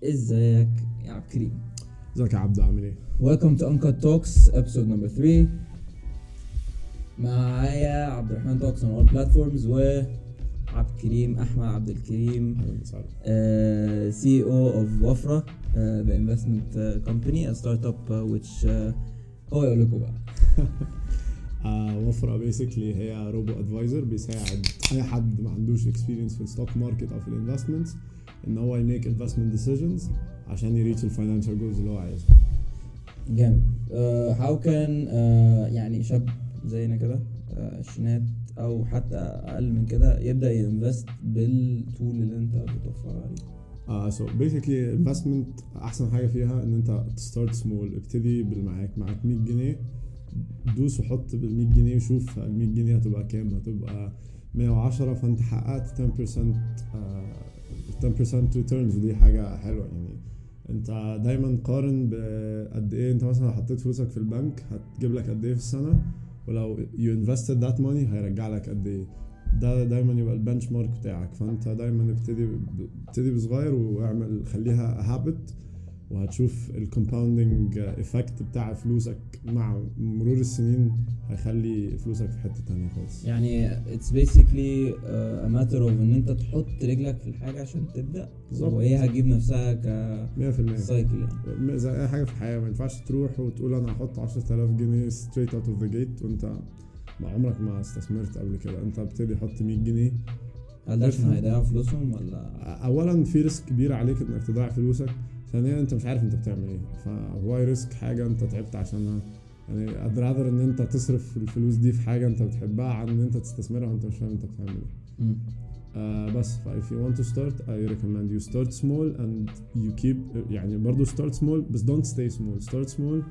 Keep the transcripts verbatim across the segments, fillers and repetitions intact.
ازيك يا عبد الكريم؟ ازيك يا عبد، عامل ايه؟ Welcome to Uncut Talks episode number three. معايا عبد الرحمن توكس on all platforms و عبد الكريم احمد عبد الكريم اهلا وسهلا. uh, C E O of Wafra, uh, the investment uh, company, a startup uh, which uh, هو يقول لكم بقى. آه وفرة بيسكلي هي روبو ادفايزر بيساعد اي حد ما عندوش اكسبيرينس في الستوك ماركت او في الانفستمنتس ان هو يميك انفستمنت ديسيجنز عشان يريتش الفاينانشال جولز اللي هو عايزها. جامد. uh, how can uh, يعني شاب زينا كده عشرينات uh, او حتى اقل من كده يبدا ينفست بالتول اللي انت بتوفرها عليه؟ اه سو بيسكلي انفستمنت احسن حاجه فيها ان انت تستارت سمول. ابتدي بالمعاك معاك مية جنيه، دوس وحط بال مية جنيه وشوف ال مية جنيه هتبقى كام. هتبقى مية وعشرة، فانت حققت عشرة بالمية آه عشرة بالمية returns، ودي حاجه حلوه. يعني انت دايما قارن بقد ايه انت مثلا حطيت فلوسك في البنك هتجيب لك قد ايه في السنه، ولو you invested that money هيرجع لك قد ايه. ده دايما يبقى البنش مارك بتاعك. فانت دايما ابتدي ابتدي بصغير واعمل خليها هابت، وهتشوف الكومباوندنج افكت بتاع فلوسك مع مرور السنين هيخلي فلوسك في حتة تانية خالص. يعني it's basically uh, a matter of ان انت تحط رجلك في الحاجة عشان تبدأ، وهي هتجيب نفسها ك مية في المية سايكل. يعني زي اي حاجة في الحياة، ما ينفعش تروح وتقول انا هحط عشرة آلاف جنيه straight out of the gate وانت ما عمرك ما استثمرت قبل كده. انت ابتدي حط مية جنيه. هل ده عشان هيضيعوا فلوسهم ولا؟ اولا في ريسك كبير عليك انك تضيع فلوسك، ثانيا انت مش عارف انت بتعمل ايه، فهو ريسك حاجه انت تعبت عشانها. يعني I'd rather ان انت تصرف الفلوس دي في حاجه انت بتحبها عن ان انت تستثمرها وانت مش فاهم انت بتعمل ايه. آه بس ف if you want to start I recommend you start small and you keep يعني برضو start small بس don't stay small. start small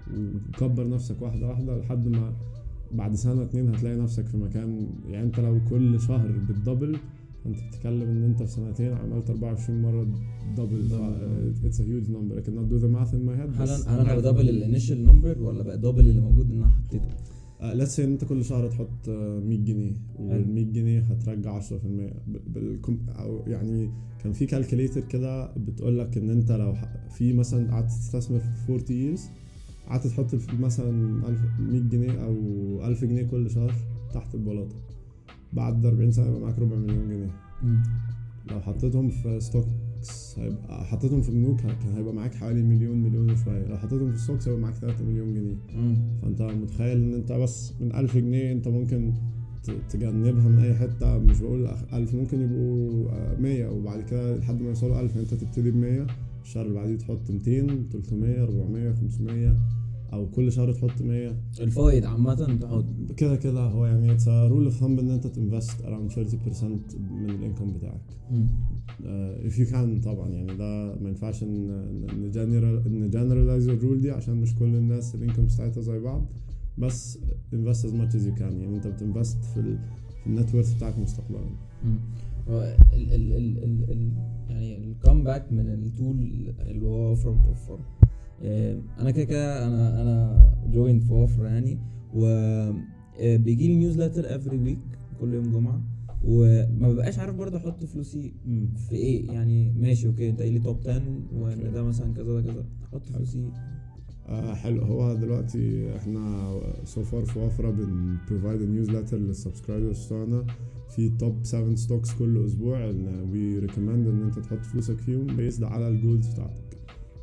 وكبر نفسك واحده واحده لحد ما بعد سنه اتنين هتلاقي نفسك في مكان. يعني انت لو كل شهر بتدبل انت بتتكلم ان انت في سنتين عملت أربعة وعشرين مرة دبل. it's a huge number. I cannot do the math in my head. هل هل انا بدبل الانيشال نمبر ولا بقى دبل اللي موجود ان انا حطيته؟ uh, let's say ان انت كل شهر تحط مية جنيه، وال مية جنيه هترجع عشرة في المية بالكم. او يعني كان في كالكوليتر كده بتقول لك ان انت لو في مثلا قعدت تستثمر في أربعين years، قعدت تحط مثلا مية جنيه او ألف جنيه كل شهر تحت البلاطة، بعد أربعين سنة يبقى معاك ربع مليون جنيه. مم. لو حطيتهم في ستوكس هيبقى حطيتهم في بنوك كان هيبقى معاك حوالي مليون مليون وشوية. لو حطيتهم في ستوكس هيبقى معاك ثلاثة مليون جنيه. مم. فانت متخيل ان انت بس من ألف جنيه انت ممكن تجنبها من اي حتة. مش بقول ألف، ممكن يبقوا مية وبعد كده لحد ما يوصلوا ألف انت تبتدي بمية، الشهر اللي بعديه تحط ميتين تلتمية أربعمية خمسمية، او كل شهر تحط مية. الفايد عامه تحط كده كده هو يعني اتس رول اوف ثامب ان انت تنفست around ثلاثين بالمية من الانكم بتاعك. uh, if you can طبعا. يعني ده ما ينفعش ان ان generalize الرول دي عشان مش كل الناس الانكم بتاعتها زي بعض، بس invest as much as you can. يعني انت بتنفست في ال في النت وورث بتاعك مستقبلا. ال ال ال ال ال يعني الكومباك من التول اللي هو فروم توفر. انا كده كده انا انا جوين في وفر يعني، وبيجي لي نيوزلتر افري ويك كل يوم جمعه، وما ببقاش عارف برضه احط فلوسي في ايه. يعني ماشي اوكي انت قايل لي توب عشرة وان ده مثلا كذا ده كذا، احط فلوسي آه حلو. هو دلوقتي احنا سو فار في وفرة بن بروفايد نيوزلتر للسبسكرايبرز بتوعنا في توب سبعة ستوكس كل اسبوع، ان وي ريكومند ان انت تحط فلوسك فيهم بيزد على الجولز بتاعتك.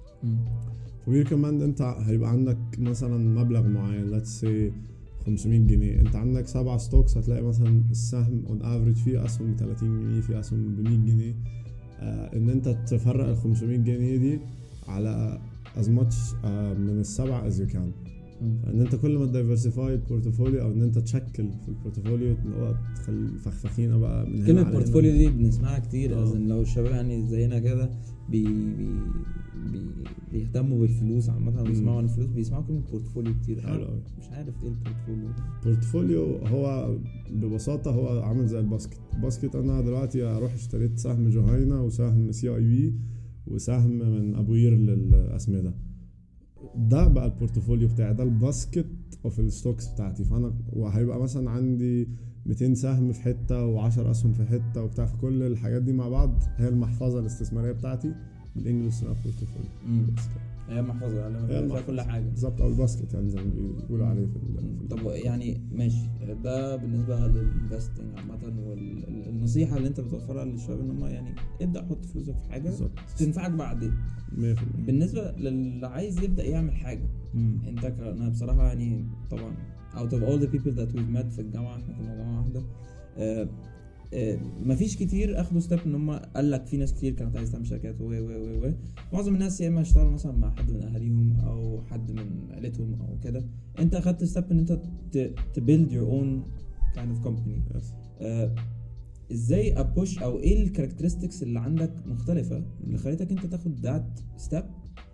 ويركمند انت هيبقى عندك مثلا مبلغ معين let's say خمسمية جنيه، انت عندك سبعة ستوكس هتلاقي مثلا السهم on average فيه اسهم ب تلاتين جنيه، فيه اسهم ب مية جنيه. آه ان انت تفرق ال خمسمية جنيه دي على as much آه من السبعة as you can. ان انت كل ما تدايفرسيفاي البورتفوليو او ان انت تشكل في البورتفوليو اللي هو تخلي فخفخينه بقى من كلمه البورتفوليو دي بنسمعها كتير. لازم لو الشباب يعني زينا كده بي بي بي بيهتموا بالفلوس عامه وبيسمعوا عن الفلوس بيسمعوا كلمه بورتفوليو كتير. حلو. مش عارف ايه البورتفوليو. البورتفوليو هو ببساطه هو عامل زي الباسكت. الباسكت انا دلوقتي اروح اشتريت سهم جهينه وسهم سي اي بي وسهم من ابو قير للاسمده، ده بقى البورتفوليو بتاعي، ده الباسكت اوف الستوكس بتاعتي. فانا وهيبقى مثلا عندي ميتين سهم في حته وعشر اسهم في حته وبتاع، في كل الحاجات دي مع بعض هي المحفظه الاستثماريه بتاعتي. بالانجلش سناب بورتفوليو. مم. بس كده. هي محفظه يعني هي فيها المحفظة. كل حاجه بالظبط، او الباسكت يعني زي ما بيقولوا عليه في ال- في ال- طب يعني ماشي، ده بالنسبه للانفستنج عامه، والنصيحه اللي انت بتوفرها للشباب ان هم يعني ابدا حط فلوسك في حاجه بالظبط تنفعك بعدين. مية في المية. بالنسبه للي عايز يبدا يعمل حاجه، مم. انت ك... انا بصراحه يعني طبعا out of all the people that we've met في الجامعه، احنا كنا جامعه واحده، آه آه مفيش كتير اخدوا ستيب ان هم قال لك في ناس كتير كانت عايزه تعمل شركات و و و و معظم الناس يا اما اشتغلوا مثلا مع حد من اهاليهم او حد من عيلتهم او كده. انت اخدت ستيب ان انت ت build your own kind of company. Yes. آه ازاي ابوش او ايه الكاركترستكس اللي عندك مختلفه اللي خلتك انت تاخد ذات ستيب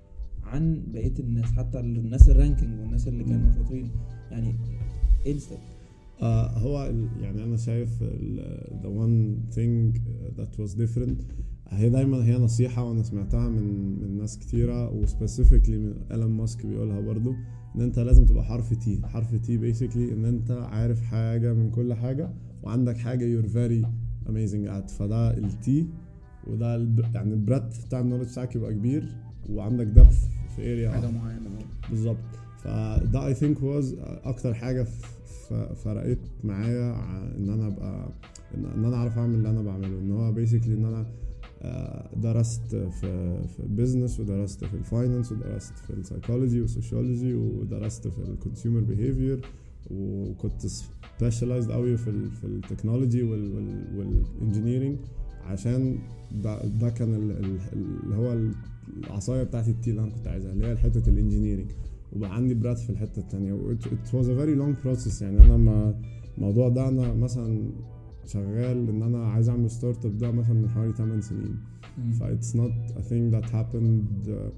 عن بقيه الناس، حتى الناس الرانكينج والناس اللي كانوا شاطرين، يعني ايه الستيب؟ آه هو ال- يعني انا شايف ال- the one thing that was different هي دايما هي نصيحة وانا سمعتها من من ناس كتيرة وسبيسيفيكلي من إيلون ماسك بيقولها برضو، ان انت لازم تبقى حرف تي. حرف تي basically ان انت عارف حاجة من كل حاجة وعندك حاجة you're very amazing at. فده التي، وده الب- يعني البريدث بتاع النولج بتاعك يبقى كبير وعندك depth في area حاجه واحدة. معينه. بالظبط. فده I think was اكتر حاجة ف- فرقت معايا ع- ان انا ابقى ان إن انا اعرف اعمل اللي انا بعمله. ان هو basically ان انا آه، درست في في البيزنس ودرست في الفاينانس ودرست في السايكولوجي والسوشيولوجي ودرست في الكونسيومر بيهيفير، وكنت سبيشاليزد قوي في ال في التكنولوجي والانجينيرنج، عشان ده, ده كان ال- ال- اللي هو العصايه بتاعتي التي اللي انا كنت عايزها، اللي هي حته الانجينيرنج. وبقى عندي براد في الحته التانية. it, it was a very long process. يعني انا ما الموضوع ده انا مثلا شغال ان انا عايز اعمل ستارت اب ده مثلا من حوالي ثمانية سنين. ف it's not a thing that happened uh,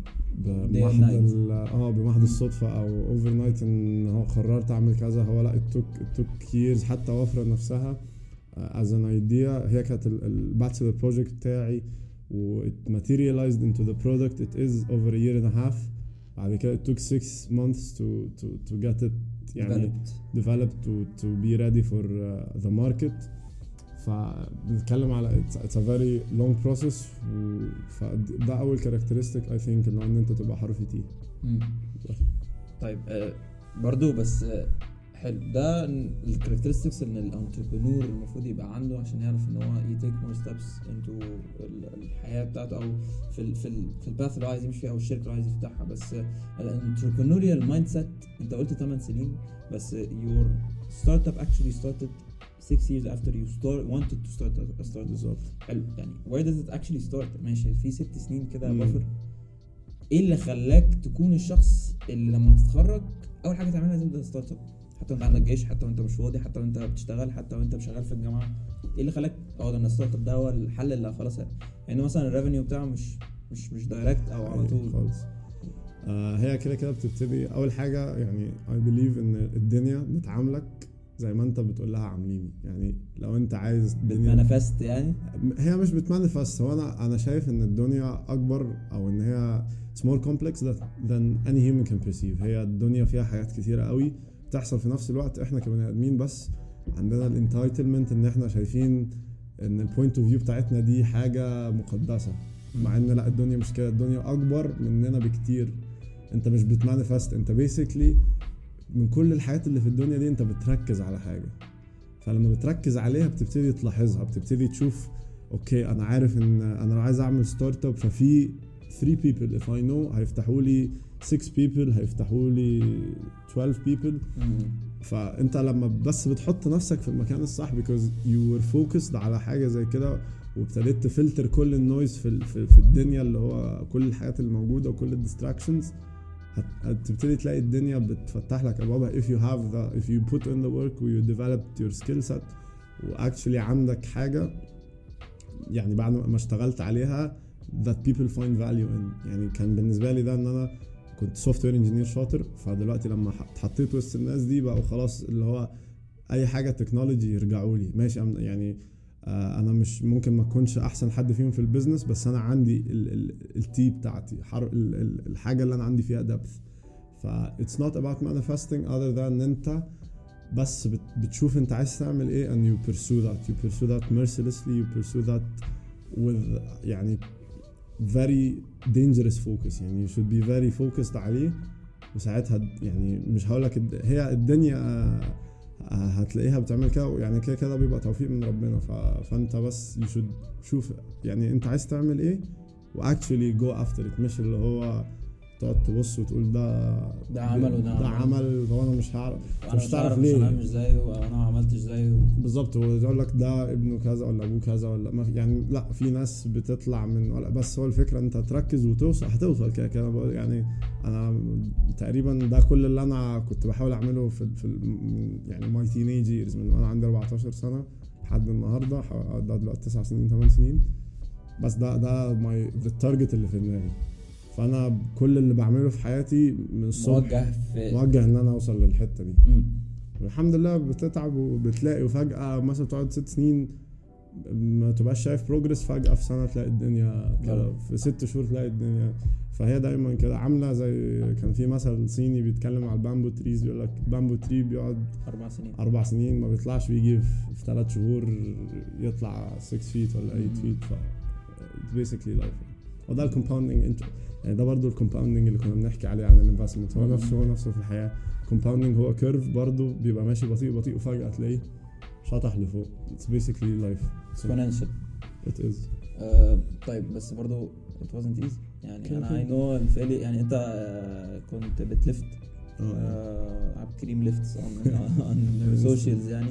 بمحض ال- اه بمحض الصدفة او overnight ان هو قررت اعمل كذا. هو لا it took it took years. حتى وفرة نفسها uh, as an idea هي كانت الباتشلر بروجكت بتاعي، و it materialized into the product it is over a year and a half. بعد كده it took six months to to to get it يعني developed, developed to to be ready for uh, the market. فبنتكلم على it's, it's a very long process. و فده اول characteristic I think اللي هو ان انت تبقى حرف تي. مم. طيب آه برضو بس آه حلو ده الكاركترستكس ان الانتربرنور المفروض يبقى عنده عشان يعرف ان هو يتيك مور ستيبس انتو الحياه بتاعته او في ال في ال في الباث اللي عايز يمشي فيها او الشركه اللي عايز يفتحها. بس الانتربرنوريال مايند سيت انت قلت ثمانية سنين بس your startup actually started six years after you start wanted to start a startup. بالظبط. حلو يعني where does it actually start؟ ماشي في ست سنين كده مم. بفر. ايه اللي خلاك تكون الشخص اللي لما تتخرج اول حاجه تعملها تبدا ستارت اب، حتى وانت عندك جيش، حتى وانت مش فاضي، حتى وانت بتشتغل، حتى وانت شغال في الجامعه؟ ايه اللي خلاك اه ده الستارت اب ده هو الحل اللي خلاص يعني مثلا الريفينيو بتاعه مش مش مش دايركت او على طول خالص. آه هي كده كده بتبتدي اول حاجه. يعني I believe ان الدنيا بتعاملك زي ما انت بتقول لها عامليني. يعني لو انت عايز بتمانيفست يعني هي مش بتمانيفست. هو انا انا شايف ان الدنيا اكبر او ان هي it's more complex than any human can perceive. هي الدنيا فيها حاجات كتيرة قوي بتحصل في نفس الوقت. احنا كبني ادمين بس عندنا الانتايتلمنت ان احنا شايفين ان البوينت اوف فيو بتاعتنا دي حاجة مقدسة، مع ان لا، الدنيا مش كده. الدنيا اكبر مننا بكتير. انت مش بتمانيفست، انت بيسيكلي من كل الحاجات اللي في الدنيا دي انت بتركز على حاجة. فلما بتركز عليها بتبتدي تلاحظها، بتبتدي تشوف اوكي انا عارف ان انا لو عايز اعمل ستارت اب ففي three people if I know هيفتحوا لي six people، هيفتحوا لي twelve people. فانت لما بس بتحط نفسك في المكان الصح because you were focused على حاجة زي كده وابتديت تفلتر كل النويز في في, في الدنيا اللي هو كل الحاجات الموجودة وكل الديستراكشنز، هتبتدي تلاقي الدنيا بتفتح لك ابوابها if you have the if you put in the work و you developed your skill set واكشلي عندك حاجة يعني بعد ما اشتغلت عليها that people find value in. يعني كان بالنسبة لي ده ان انا كنت سوفت وير انجينير شاطر، فدلوقتي لما اتحطيت وسط الناس دي بقوا خلاص اللي هو اي حاجة تكنولوجي يرجعوا لي ماشي. يعني آه انا مش ممكن ما اكونش احسن حد فيهم في البيزنس، بس انا عندي التي بتاعتي ال ال الحاجة اللي انا عندي فيها depth. ف it's not about manifesting other than ان انت بس بتشوف انت عايز تعمل ايه and you pursue that you pursue that mercilessly you pursue that with يعني very dangerous focus يعني you should be very focused عليه. وساعتها يعني مش هقولك هي الدنيا هتلاقيها بتعمل كده يعني كده كده بيبقى توفيق من ربنا. فانت بس you should شوف يعني انت عايز تعمل ايه و actually go after it مش اللي هو تقعد تبص وتقول ده ده عمل وده ده عمل وانا مش هعرف مش تعرف ليه انا مش زيه وانا ما عملتش زيه بالظبط. ويقول لك ده ابنه كذا ولا ابوه كذا ولا ما يعني لا في ناس بتطلع من ولا بس هو الفكره انت تركز وتوصل هتوصل كده كده يعني. انا تقريبا ده كل اللي انا كنت بحاول اعمله في في يعني ماي تينيج ييرز من وانا عندي أربعتاشر سنه لحد النهارده ده دلوقتي تسع سنين ثمان سنين بس ده ده ماي التارجت اللي في دماغي. فانا كل اللي بعمله في حياتي من الصبح موجه في موجه ان انا اوصل للحته دي. م. والحمد لله بتتعب وبتلاقي وفجاه مثلا تقعد ست سنين ما تبقاش شايف بروجرس فجاه في سنه تلاقي الدنيا كده في ست شهور تلاقي الدنيا. فهي دايما كده عامله زي كان في مثل صيني بيتكلم على البامبو تريز بيقول لك بامبو تري بيقعد اربع سنين اربع سنين ما بيطلعش بيجي في ثلاث شهور يطلع ستة فيت ولا ثمانية فيت. ف basically life. وده الكومباوندنج يعني ده برضو الكومباوندنج اللي كنا بنحكي عليه عن الانفستمنت هو نفسه هو نفسه في الحياه. كومباوندنج هو كيرف برضو بيبقى ماشي بطيء بطيء وفجاه تلاقيه شطح لفوق. It's basically life exponential. It is. uh, طيب بس برضو it wasn't easy يعني كده انا كده. I know الفعلي يعني انت uh, كنت بتلفت اه عبد الكريم ليفتس on socials يعني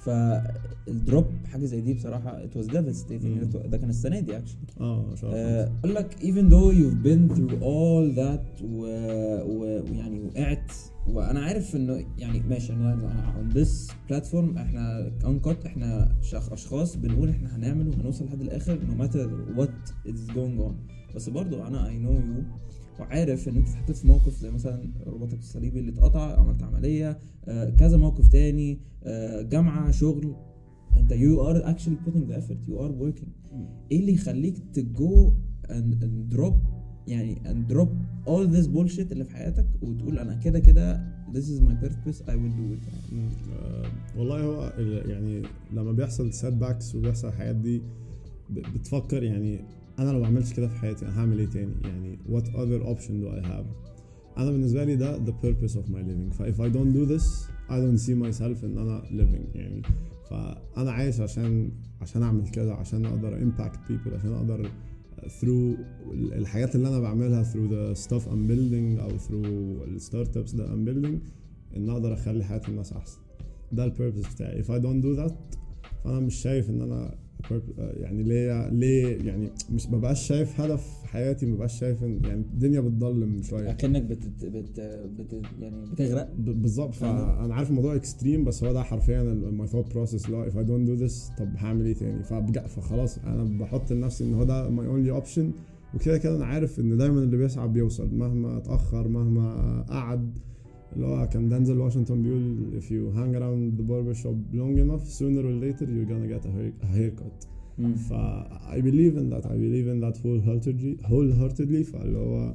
فالدروب حاجه زي دي بصراحه it was devastating. ده كان السنه دي actually اه شاطر. اقول لك even though you've been through all that ويعني وقعت وانا عارف انه يعني ماشي انا on this platform احنا uncut احنا اشخاص بنقول احنا هنعمل وهنوصل لحد الاخر no matter what is going on. بس برضو انا I know you وعارف ان انت اتحطيت في موقف زي مثلا رباطك الصليبي اللي اتقطع عملت عملية آه كذا موقف تاني آه جامعة شغل انت you are actually putting the effort you are working. ايه اللي يخليك تجو and, and drop يعني and drop all this bullshit اللي في حياتك وتقول انا كده كده this is my purpose I will do it يعني. آه والله هو يعني لما بيحصل setbacks وبيحصل الحاجات دي بتفكر يعني انا لو ما عملتش كده في حياتي انا هعمل ايه تاني يعني what other option do I have. انا بالنسبه لي ده the purpose of my living. ف if I don't do this I don't see myself ان انا living يعني. فانا عايش عشان عشان اعمل كده عشان اقدر impact people عشان اقدر through الحاجات اللي انا بعملها through the stuff I'm building او through the startups that I'm building ان اقدر اخلي حياة الناس احسن. ده ال purpose بتاعي. if I don't do that فانا مش شايف ان انا يعني ليه ليه يعني مش ببقاش شايف هدف في حياتي مبقاش شايف ان يعني الدنيا بتضلم شويه اكنك بت بت بت يعني بتغرق بالظبط. فانا عارف الموضوع اكستريم بس هو ده حرفيا ماي ثوت بروسيس. لا if I don't do this طب هعمل ايه تاني. فخلاص انا بحط لنفسي ان هو ده ماي اونلي اوبشن. وكده كده انا عارف ان دايما اللي بيسعى بيوصل مهما اتاخر مهما قعد. اللي هو كان دانزل واشنطن بيقول if you hang around the barber shop long enough sooner or later you're gonna get a, hair, a haircut. ف I believe in that I believe in that wholeheartedly wholeheartedly فاللي هو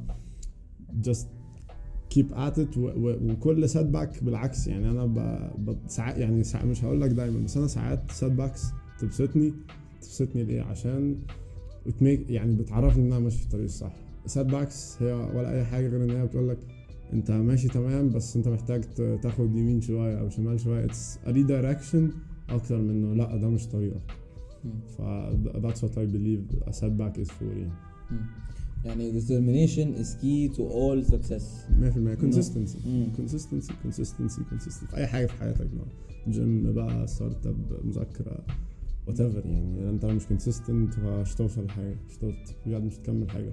just keep at it. و, و, وكل setback بالعكس يعني أنا ب, ب, ساعات يعني ساعات مش هقول لك دايما بس أنا ساعات setbacks تبسطني تبسطني ليه عشان بتميك يعني بتعرفني إن أنا ماشي في الطريق الصح. setbacks هي ولا أي حاجة غير إن هي بتقول لك انت ماشي تمام بس انت محتاج تاخد يمين شوية او شمال شوية. it's a redirection اكتر منه لا ده مش طريقة. ف that's what I believe a setback is for يعني. يعني determination is key to all success. مية في المية consistency consistency consistency consistency في اي حاجة في حياتك بقى جيم بقى ستارت اب مذاكرة whatever يعني انت لو مش consistent مش توصل لحاجة مش توصل بجد مش تكمل حاجة.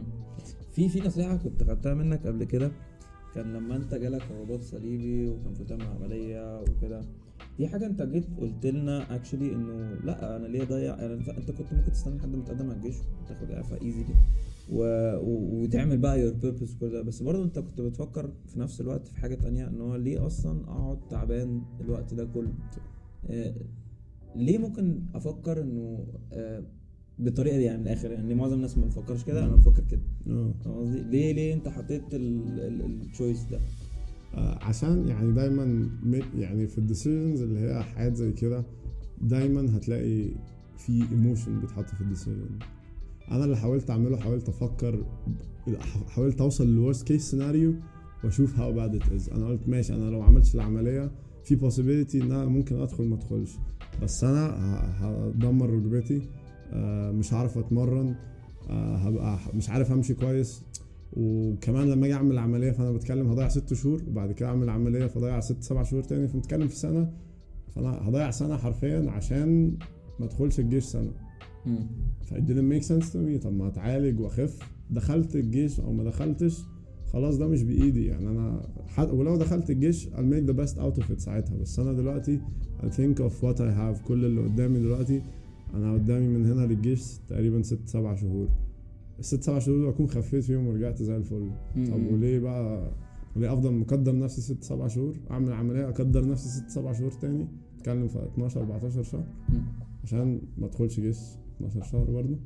في في نصيحة كنت خدتها منك قبل كده كان لما انت جالك رباط صليبي وكان في تعمل عملية وكده دي حاجة انت جيت قلت لنا actually انه لا انا ليه ضيع يعني انت, انت كنت ممكن تستنى لحد ما تقدم على الجيش وتاخد اعفاء ايزي دي و... و... وتعمل بقى your purpose وكل ده. بس برضو انت كنت بتفكر في نفس الوقت في حاجة تانية ان هو ليه اصلا اقعد تعبان الوقت ده كله. آه... ليه ممكن افكر انه آه... بالطريقه دي يعني من الاخر يعني معظم الناس ما بتفكرش كده انا بفكر كده. اه قصدي ليه ليه انت حطيت التشويس ده؟ آه عشان يعني دايما يعني في الديسيجنز اللي هي حاجات زي كده دايما هتلاقي في ايموشن بيتحط في الديسيجن. انا اللي حاولت اعمله حاولت افكر حاولت اوصل للورست كيس سيناريو واشوف هاو باد ات از. انا قلت ماشي انا لو عملتش العمليه في possibility ان انا ممكن ادخل ما ادخلش بس انا هدمر ركبتي مش هعرف اتمرن هبقى مش عارف امشي كويس وكمان لما اجي اعمل عمليه فانا بتكلم هضيع ست شهور وبعد كده اعمل عمليه فضيع ست سبع شهور تاني فبنتكلم في سنه فانا هضيع سنه حرفيا عشان ما ادخلش الجيش سنه. ف it didn't make sense to me. طب ما اتعالج واخف دخلت الجيش او ما دخلتش خلاص ده مش بايدي يعني انا حد ولو دخلت الجيش I'll make the best out of it ساعتها. بس انا دلوقتي I think of what I have كل اللي قدامي دلوقتي انا قدامي من هنا للجيش تقريبا ست سبع شهور الست سبع شهور دول اكون خفيت فيهم ورجعت زي الفل. طب وليه بقى وليه افضل مقدر نفسي ست سبع شهور اعمل عمليه اقدر نفسي ست سبع شهور تاني اتكلم في اتناشر اربعتاشر شهر عشان ما ادخلش جيش اتناشر شهر برضه.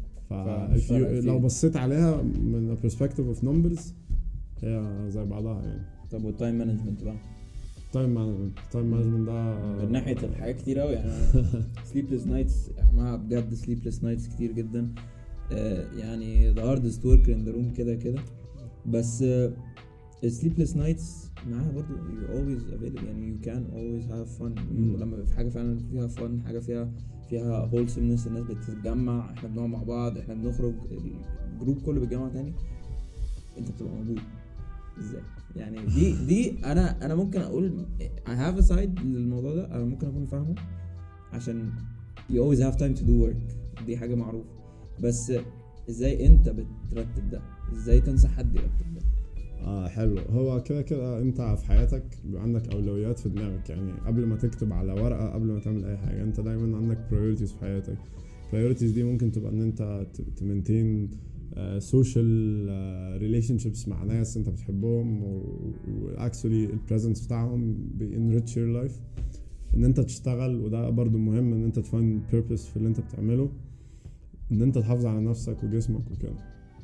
ف لو بصيت عليها من perspective of numbers هي زي بعضها يعني. طب والتايم مانجمنت بقى؟ تايم مانجمنت تايم مانجمنت ده من ناحيه الحاجات كتير قوي يعني sleepless nights احنا بجد sleepless nights كتير جدا يعني the hardest worker in the room كده كده بس sleepless nights معاها برضو you're always available يعني you can always have fun. ولما في حاجة فعلا فيها fun حاجة فيها فيها wholesomeness الناس بتتجمع احنا بنقعد مع بعض احنا بنخرج الجروب كله بيتجمع تاني انت بتبقى موجود ازاي يعني دي دي انا انا ممكن اقول I have a side للموضوع ده انا ممكن اكون فاهمه عشان you always have time to do work دي حاجة معروفة بس ازاي انت بترتب ده ازاي تنصح حد يرتب ده؟ اه حلو هو كده كده انت في حياتك بيبقى عندك اولويات في دماغك يعني قبل ما تكتب على ورقه قبل ما تعمل اي حاجه انت دايما عندك priorities في حياتك. priorities دي ممكن تبقى ان انت تمنتين سوشيال ريليشنشيبس مع ناس انت بتحبهم واكشولي البريزنس بتاعهم بينريتش يور لايف ان انت تشتغل وده برضو مهم ان انت تفايند بيربس في اللي انت بتعمله ان انت تحافظ على نفسك وجسمك وكده.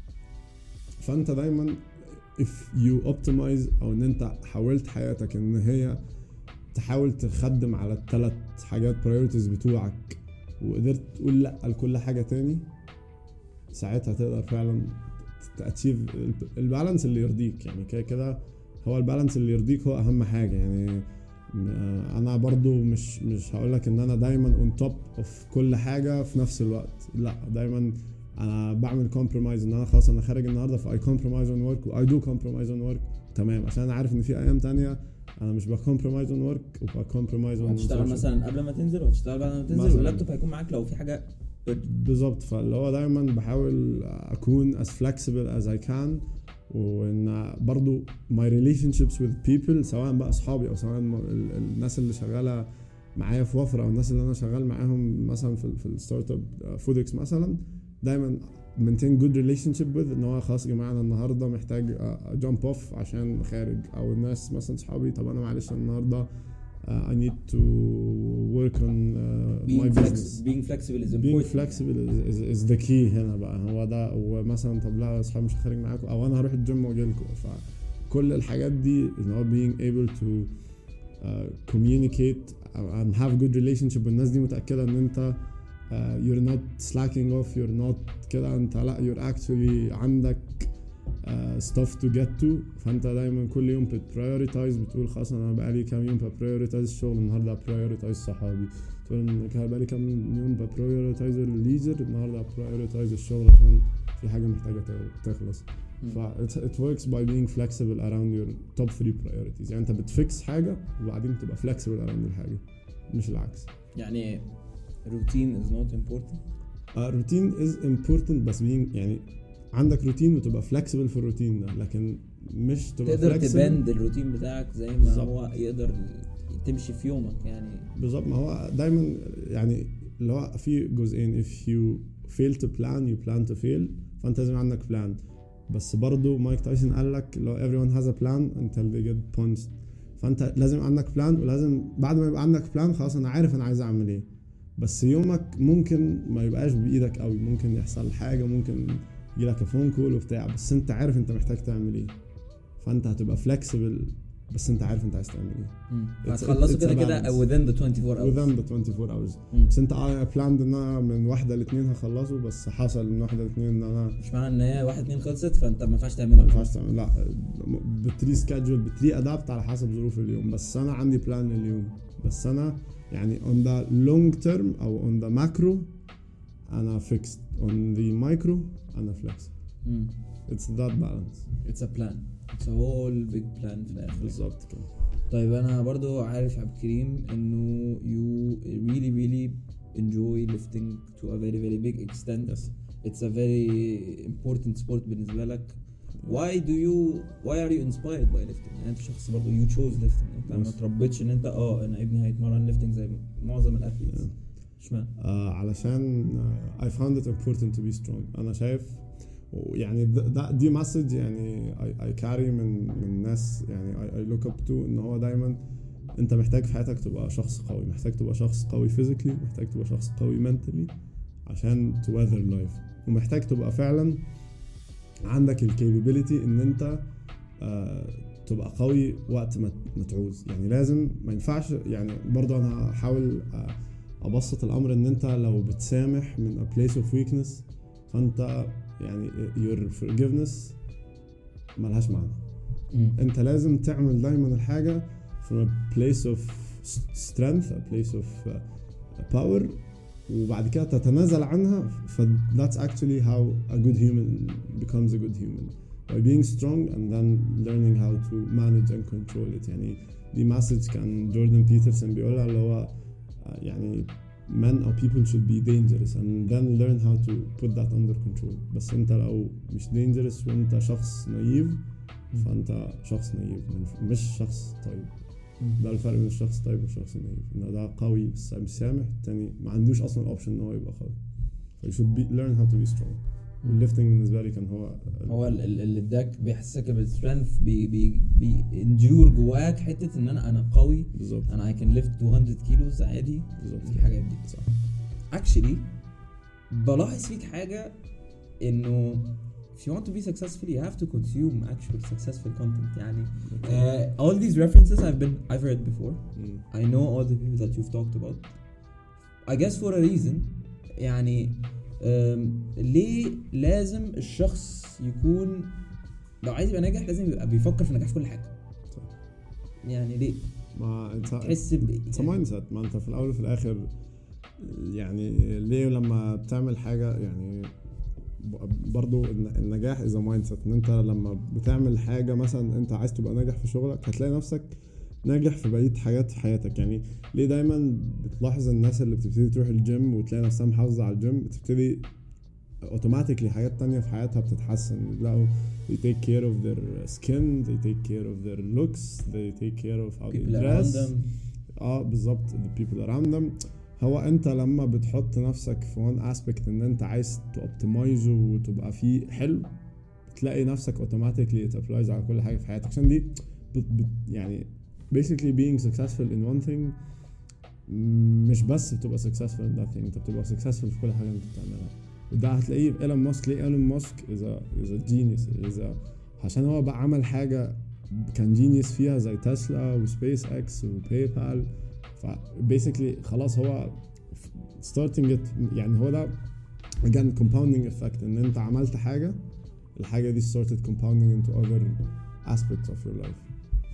فانت دايما if you optimize او ان انت حاولت حياتك ان هي تحاول تخدم على الثلاث حاجات priorities بتوعك وقدرت تقول لا لكل حاجة تاني ساعتها تقدر فعلا تأتشيف البالانس اللي يرضيك يعني كده كده هو البالانس اللي يرضيك هو اهم حاجة يعني. انا برضو مش مش هقولك ان انا دايما on top of كل حاجة في نفس الوقت لا دايما انا بعمل compromise ان انا خلاص انا خارج النهاردة ف I compromise on work و I do compromise on work تمام عشان انا عارف ان في ايام تانية انا مش بكمبرومايز on work و بكمبرومايز on هتشتغل مثلا قبل ما تنزل وهتشتغل بعد ما تنزل واللابتوب هيكون معاك لو في حاجة بالظبط. فاللي هو دايما بحاول اكون as flexible as I can وان برضو my relationships with people سواء بقى اصحابي او سواء الناس اللي شغاله معايا في وفره او الناس اللي انا شغال معاهم مثلا في في الستارت اب فودكس مثلا دايما maintain good relationship with ان هو خلاص يا جماعه انا النهارده محتاج jump off عشان خارج او الناس مثلا اصحابي طب انا معلش النهارده Uh, I need to work on uh, being my flex- business. being flexible is important. Being flexible is, is, is the key هنا بقى هو ده. ومثلا طب لا اصحابي مش خارج معاكم او انا هروح الجيم واجي لكم. فكل الحاجات دي ان هو being able to uh, communicate and have good relationship والناس دي متأكدة ان انت uh, you're not slacking off, you're not كده انت لا you're actually عندك Uh, stuff to get to. فانت دايما كل يوم بتprioritize بتقول خلاص انا بقالي كام يوم بprioritize الشغل النهارده prioritize صحابي تقول انا بقالي كام يوم بprioritize الليجر النهارده prioritize الشغل عشان في حاجه محتاجه تخلص. ف it works by being flexible around your top three priorities. يعني انت بتفكس حاجه وبعدين تبقى flexible around الحاجه مش العكس. يعني routine is not important. uh, routine is important بس being يعني عندك روتين وتبقى فلكسبل في الروتين ده لكن مش تبقى تقدر تبند فلكسبل الروتين بتاعك زي ما بالزبط. هو يقدر تمشي في يومك يعني بالظبط. ما هو دايما يعني اللي هو في جزئين if you fail to plan you plan to fail. فانت لازم عندك بلان بس برضو مايك تايسون قال لك لو everyone has a plan until they get punched. فانت لازم عندك بلان ولازم بعد ما يبقى عندك بلان خلاص انا عارف انا عايز اعمل ايه. بس يومك ممكن ما يبقاش بايدك قوي ممكن يحصل حاجه ممكن يجيلك فون كول وبتاع بس انت عارف انت محتاج تعمل ايه. فانت هتبقى فلكسبل بس انت عارف انت عايز تعمل ايه. هتخلصوا كده كده within the twenty-four hours within the twenty-four hours. مم. بس انت I planned ان انا من واحدة لاثنين هخلصه، بس حصل من واحدة لاثنين ان انا مش معنى ان هي واحد اتنين خلصت فانت ما ينفعش تعملها. ما ينفعش تعمل، لا بتري سكادجول بتري ادابت على حسب ظروف اليوم. بس انا عندي بلان لليوم، بس انا يعني on the long term او on the macro انا fixed, on the micro انا flexible. مم. it's that balance. it's a plan, it's a whole big plan في الاخر. بالظبط كده. طيب انا برضو عارف يا عبد الكريم انه you really really enjoy lifting to a very very big extent. yes. it's a very important sport بالنسبة لك. why do you why are you inspired by lifting؟ يعني انت شخص برضو you chose lifting، انت ما تربيتش ان انت اه انا ابني هيتمرن lifting زي معظم الاثليتس. اشمعنى؟ آه علشان uh, I found it important to be strong. انا شايف يعني ده دي مسج يعني I, I carry من من ناس يعني I, I look up to ان هو دايما انت محتاج في حياتك تبقى شخص قوي، محتاج تبقى شخص قوي physically، محتاج تبقى شخص قوي mentally عشان to weather life، ومحتاج تبقى فعلا عندك الكابابيلتي ان انت آه تبقى قوي وقت ما تعوز. يعني لازم ما ينفعش يعني برضه انا هحاول آه ابسط الامر ان انت لو بتسامح من a place of weakness فانت يعني your forgiveness ملهاش معنى. م. انت لازم تعمل دايما الحاجة from a place of strength, a place of uh, power، وبعد كده تتنازل عنها. ف that's actually how a good human becomes a good human, by being strong and then learning how to manage and control it. يعني دي message كان جوردن بيترسون بيقولها اللي هو يعني men or people should be dangerous and then learn how to put that under control. بس انت لو مش dangerous وانت شخص نايف فانت شخص نايف مش شخص طيب. ده الفرق بين الشخص طيب والشخص نايف، ان ده قوي بس مش سامح، التاني ما عندوش اصلا اوبشن ان هو يبقى قوي. you should be learn how to be strong. والليفتنج بالنسبه لي كان هو هو اللي اداك بيحسسك بالسترينث، بي بي بي انديور جواك حته ان انا انا قوي بالظبط، انا I can lift two hundred kilos عادي بالظبط. الحاجات دي صح. actually بلاحظ فيك حاجه انه if you want to be successful you have to consume actual successful content. يعني uh, all these references I've been I've heard before. mm. I know all the people that you've talked about I guess for a reason. يعني um, ليه لازم الشخص يكون لو عايز يبقى ناجح لازم يبقى بيفكر في النجاح في كل حاجة؟ صح. يعني ليه؟ ما انت تحس ب مايند سيت، ما انت في الاول وفي الاخر يعني ليه لما بتعمل حاجة يعني برضو النجاح إذا مايند سيت. ان انت لما بتعمل حاجة مثلا انت عايز تبقى ناجح في شغلك هتلاقي نفسك ناجح في بقية حاجات في حياتك. يعني ليه دايما بتلاحظ الناس اللي بتبتدي تروح الجيم وتلاقي نفسها محافظة على الجيم بتبتدي اوتوماتيكلي حاجات تانية في حياتها بتتحسن. لو they take care of their skin, they take care of their looks, they take care of how they dress. اه بالظبط the people around them. هو انت لما بتحط نفسك في one aspect ان انت عايز تoptimize وتبقى فيه حلو تلاقي نفسك automatically it applies على كل حاجة في حياتك. عشان دي بت بت يعني basically being successful in one thing مش بس بتبقى successful in that thing، انت بتبقى successful في كل حاجة انت بتعملها. وده هتلاقيه في إيلون ماسك. ليه إيلون ماسك إذا إذا genius إذا عشان هو بقى عمل حاجة كان genius فيها زي تسلا وسبيس اكس وباي بال. ف basically خلاص هو starting it يعني هو ده again compounding effect ان انت عملت حاجة الحاجة دي started compounding into other aspects of your life.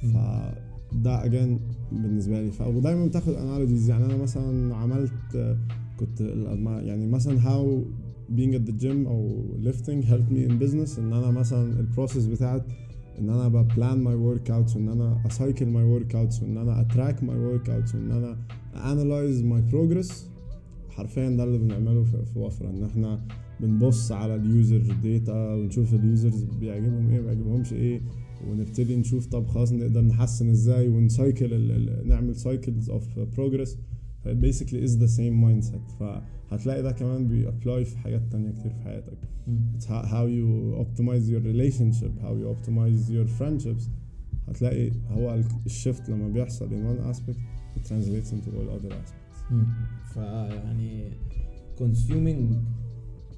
فده again بالنسبة لي. ودايما بتاخد analogies. يعني انا مثلا عملت كنت يعني مثلا how being at the gym او lifting helped me in business. ان انا مثلا البروسيس بتاعت ان انا ببلان my workouts وان انا اcycle my workouts وان انا atrack my workouts وان انا analyze my progress. حرفيا ده اللي بنعمله في وفرة، ان احنا بنبص على اليوزر داتا ونشوف اليوزرز بيعجبهم ايه بيعجبهمش ايه ونبتدي نشوف طب خلاص نقدر نحسن ازاي ونسايكل نعمل cycles of progress. basically is the same mindset. فهتلاقي ده كمان بي apply في حاجات تانية كتير في حياتك. it's how you optimize your relationship, how you optimize your friendships. هتلاقي هو الشيفت لما بيحصل in one aspect it translates into all other aspects. فيعني consuming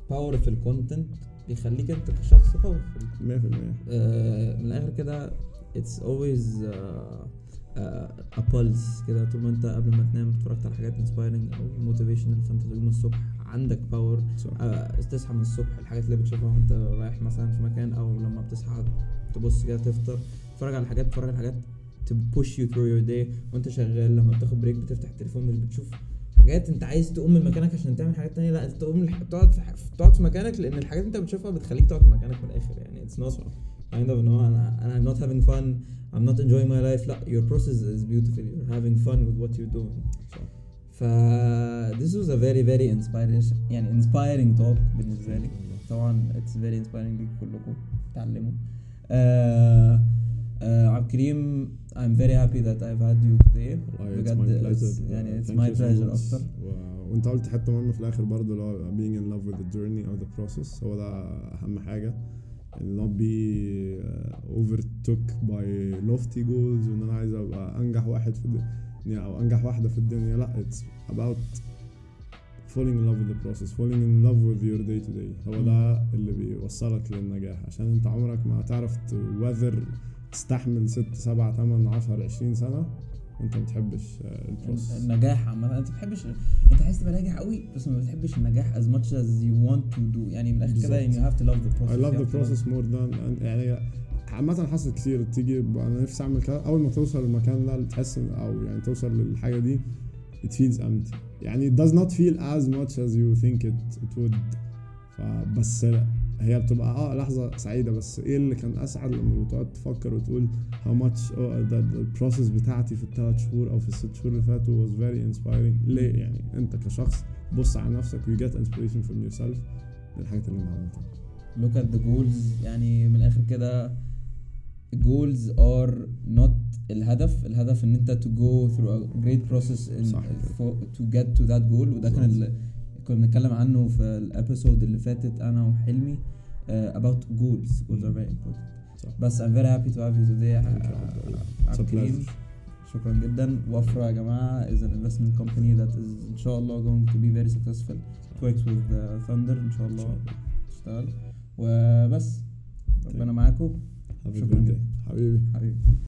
powerful content بيخليك انت كشخص powerful مية في المية. آه من الاخر كده it's always uh, uh, a pulse كده. طول ما انت قبل ما تنام اتفرجت على حاجات inspiring او motivational، فانت تقوم الصبح عندك باور. uh, تصحى من الصبح الحاجات اللي بتشوفها وانت رايح مثلا في مكان، او لما بتصحى تبص كده تفطر، تتفرج على حاجات تتفرج على حاجات to push you through your day وانت شغال. لما بتاخد بريك بتفتح التليفون مش بتشوف حاجات انت عايز تقوم من مكانك عشان تعمل حاجات تانية، لا انت تقوم تقعد في تقعد في مكانك، لان الحاجات انت بتشوفها بتخليك تقعد في مكانك من الاخر يعني. it's not kind of no انا انا I'm not having fun, I'm not enjoying my life. لا, your process is beautiful, you're having fun with what you're doing. ف this was a very very inspiring يعني inspiring talk بالنسبة لي. طبعا it's very inspiring ليك كلكم تعلموا. uh, uh, عبد الكريم I'm very happy that I've had you today. بجد يعني it's my pleasure أكتر. وانت قلت حتة مهمة في الآخر برضه اللي هو being in love with the journey or the process. هو ده أهم حاجة، يعني not be uh, overtook by lofty goals وإن أنا عايز أبقى أنجح واحد في الدنيا أو أنجح واحدة في الدنيا. لا, it's about falling in love with the process, falling in love with your day to day. هو ده اللي بيوصلك للنجاح، عشان انت عمرك ما هتعرف weather تستحمل ست سبعة تمن عشر عشرين سنة وانت ما بتحبش البروسس. النجاح عامة انت بتحبش، انت عايز تبقى ناجح قوي بس ما بتحبش النجاح as much as you want to do يعني. من الاخر كده you have to love the process. I love the process more than يعني عامة حصل كتير تيجي انا نفسي اعمل كده، اول ما توصل المكان ده تحس او يعني توصل للحاجة دي it feels empty يعني. it does not feel as much as you think it, it would. فبس هي بتبقى اه لحظة سعيدة، بس ايه اللي كان اسعد لما بتقعد تفكر وتقول how much oh, the, the process بتاعتي في الثلاث شهور او في الست شهور اللي فاتوا was very inspiring. ليه يعني؟ انت كشخص بص على نفسك you get inspiration from yourself للحاجات اللي انت عملتها. look at the goals يعني. من الاخر كده goals are not الهدف. الهدف ان انت to go through a great process in for, to get to that goal. وده كان اللي كنا بنتكلم عنه في الابيسود اللي فاتت انا وحلمي uh, about goals. goals are very important. صح. بس I'm very happy to have you today. عبد شكرا جدا. وفرة يا جماعة is an investment company that is ان شاء الله going to be very successful. works with uh, Thunder ان شاء الله تشتغل. وبس ربنا معاكم. شكرا جدا حبيبي حبيبي.